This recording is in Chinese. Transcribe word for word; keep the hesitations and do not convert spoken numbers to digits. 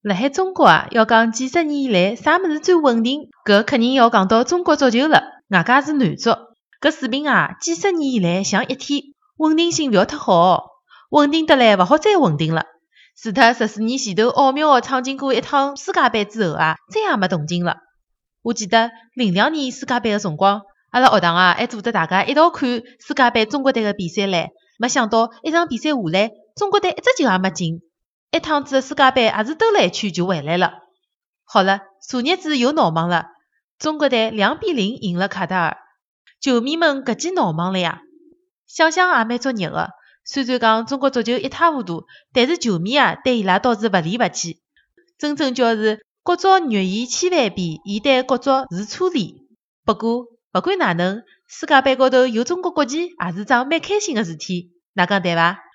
辣海中国啊，要讲几十年以来啥物事最稳定，搿肯定要讲到中国足球了。外加是男足，搿水平啊，几十年以来像一天，稳定性勿要太好哦，稳定得来勿好再稳定了。除脱十四年前头奥妙地闯进过一趟世界杯之后啊，再也没动静了。我记得零两年世界杯个辰光，阿拉学堂啊还组织大家一道看世界杯中国队个比赛唻。没想到一场比赛下来，中国队一只球也没进，一趟子世界杯也是兜了一圈就回来了。好了，昨日子又闹忙了，中国队两比零赢了卡塔尔，球迷们搿记闹忙了呀。想想也蛮作孽个，虽然讲中国足球一塌糊涂，但是球迷啊对伊拉倒是勿离勿弃，真正叫是国足虐伊千万遍，伊对国足如初恋。不过不管哪能，世界杯高头有中国国旗也是桩蛮开心个事体，哪讲对伐？